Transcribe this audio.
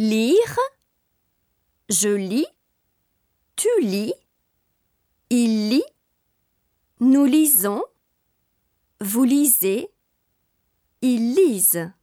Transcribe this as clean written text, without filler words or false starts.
Lire. Je lis. Tu lis. Il lit. Nous lisons. Vous lisez. Ils lisent.